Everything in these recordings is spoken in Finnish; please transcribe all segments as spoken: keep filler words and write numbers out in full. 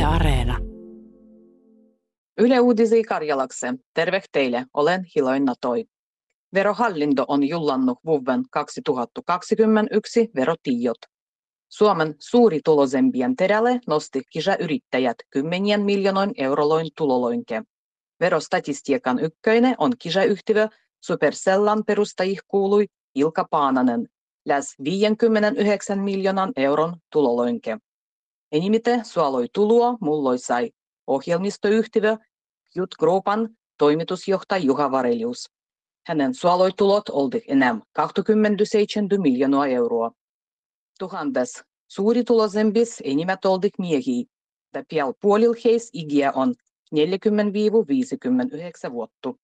Yle Areena. Yle Uudisi Karjalakse. Terve teille, olen Hiloin Natoi. Verohallinto on jullannut vuoden kaksituhattakaksikymmentäyksi verotiedot. Suomen suurituloisempien terälle nosti kisayrittäjät kymmenien miljoonan euroloin tuloloinke. Verostatistiikan ykköinen on kisayhtiö Supercellan perustajih kuului Ilkka Paananen, lähes viisikymmentäyhdeksän miljoonan euron tuloloinke. Enimite suoloi tuloa mulloi sai ohjelmistoyhtiö Jut Groupan toimitusjohtaja Juha Varelius. Hänen suoloitulot oltiin enää kaksikymmentäseitsemän miljoonaa euroa. Tuhandes suurituloisempis enimmät oltiin miehiä, ja pian puolilla heistä ikiä on neljäkymmentä viisikymmentäyhdeksän vuotta.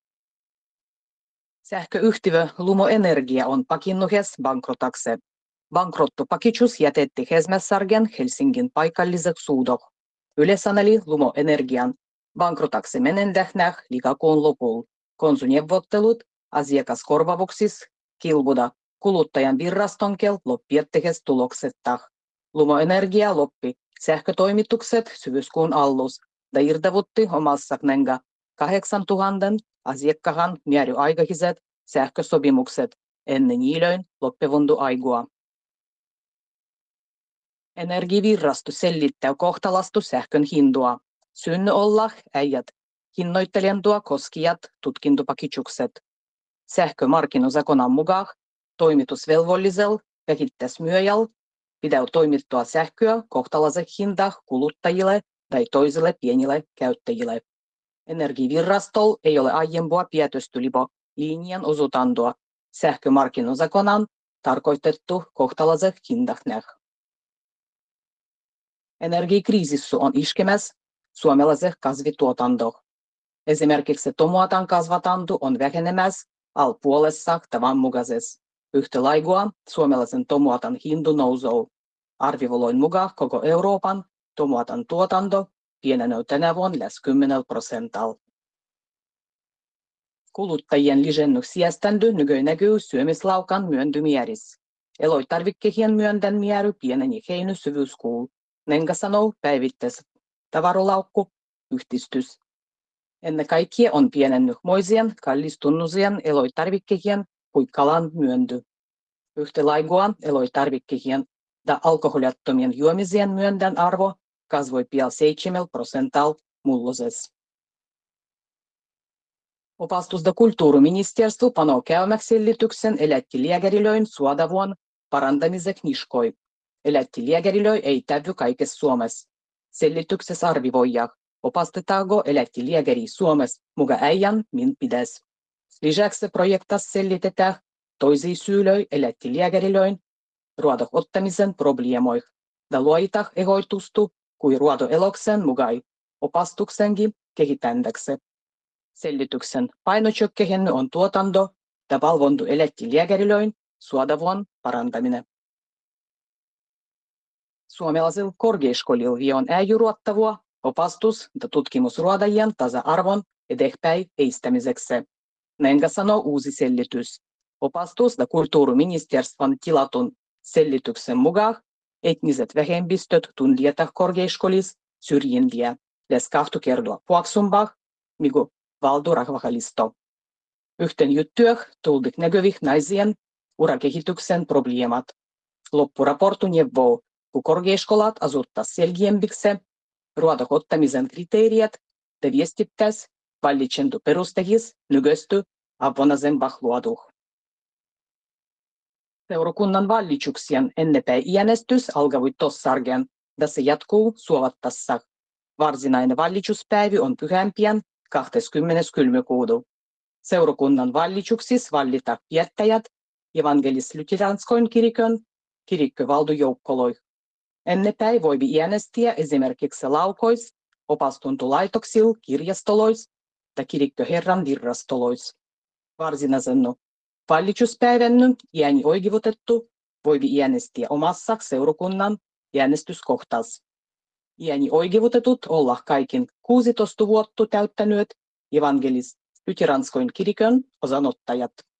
Sähköyhtiö Lumo Energia on pakinnuhes bankrotakse. Bankrottopakitsus jätetti Hesmässargen Helsingin paikalliseksi suudoh. Yle saneli Lumo Energian bankrotakse menendähnäh liikakuun lopulla. Konsuneuvottelut asiakaskorvauksissa kilbuda kuluttajan virastonkel loppiettehes tuloksettah. Lumo Energia loppi sähkötoimitukset syyskuun allus ja irtavutti omassa knenga kahdeksantuhannen asiakkahan määräaikaiset sähkösopimukset ennen niilöin loppivundu aigua. Energiavirasto sellittää kohtalastu sähkön hindua. Synny olla äijät hinnoittelijantua koskijat tutkintopakitsukset. Sähkömarkkinozakonan mukaan toimitusvelvollisella vähittäismyyjällä pitää toimittaa sähköä kohtalaisen hintaan kuluttajille tai toisille pienille käyttäjille. Energiavirastolla ei ole aiempaa päätöstylipo linjan osutantoa sähkömarkkinozakonan tarkoitettu kohtalaisen hintahnäh. Energiakriisissä on iskemässä suomalaisen kasvituotanto. Esimerkiksi tomaatan kasvatanto on vähenemässä al puolessa tavan mukaisessa. Yhtä lailla suomalaisen tomaatan hinta nousee. Arvivoloin mukaan koko Euroopan tomaatan tuotanto pienenee tänä vuonna lähes kymmenellä prosentilla. Kuluttajien lisännyt sieständö nykyään näkyy syömislaukan myöntymierissä. Elotarvikkeen myöntän määrä pieneni heiny syvyyskuulla. Nenga sanoo päivittäis tavarolaukku yhdistys. Ennen kaikkea on pienennyt moisien kallistunnusien elotarvikkeen kuin kalan myönty. Yhtä lailla elotarvikkeen ja alkoholiattomien juomisien myöntän arvo kasvoi pian seitsemällä prosentilla mullosessa. Opastus- ja kulttuuriministeriö panoo käymäksi selityksen elättilääkärilöin suodavuon parantamiseksi niskoi. Elättilääkärilöi ei täydy kaikessa Suomessa. Selityksessä arvioidaan, opastetaanko elättilääkäri Suomessa muka äijän min pitäisi. Lisäksi projektassa selitetään toisia syylöi elättilääkärilöin ruodon ottamisen probleemoih ja luoitah ehoitustu kuin ruodoeloksen mukai opastuksenkin kehittändäksi. Selityksen painotsökkehen on tuotanto ja valvontu elättilääkärilöin suodavuon parantaminen. Suomalaisilla korkeakouluilla on äijyruottavua opastus- ja tutkimusruodajien tasa-arvon eteenpäin eistämiseksi. Nenga sanoo uusi selitys. Opastus- ja kulttuuriministeriön tilatun selityksen mukaan etniset vähemmistöt tunnistetaan korkeakouluissa syrjintiä lähes kahta kertaa puoksumpaa, mikä valtorahvahalisto. Yhten juttuah tuldik näkyvih naisien urakehityksen probleemat. Loppuraportu neuvoo, kun korkeaskoulat asuttaa selkeämpiksi ruodon ottamisen kriteerit ja viestittäisi vallitsentu perustehis nykyistä avonaisempah luoduh. Seurakunnan vallitsuksien ennepäin äänestys alkoi tossargen, ja se jatkuu suovattassa. Varsinainen vallitsuspäivä on pyhämpien kahdeskymmenes kylmykuuta. Seurakunnan vallitsuksissa vallitaan viettäjät evankelis-luteranskoin kirikön kirikkövaltuujoukkoloih. Ennepäin voi äänestää esimerkiksi laukois, opastuntolaitoksilla, kirjastolois ja kirikköherran virrastolois. Varsinaisen vallitsuspäivän ääni oikeutettu voi äänestää omassa seurakunnan äänestyskohtassa. Ääni oikeutetut olla kaikin kuusitoista vuotta täyttäneet evankelis-luteranskoin kirikön osanottajat.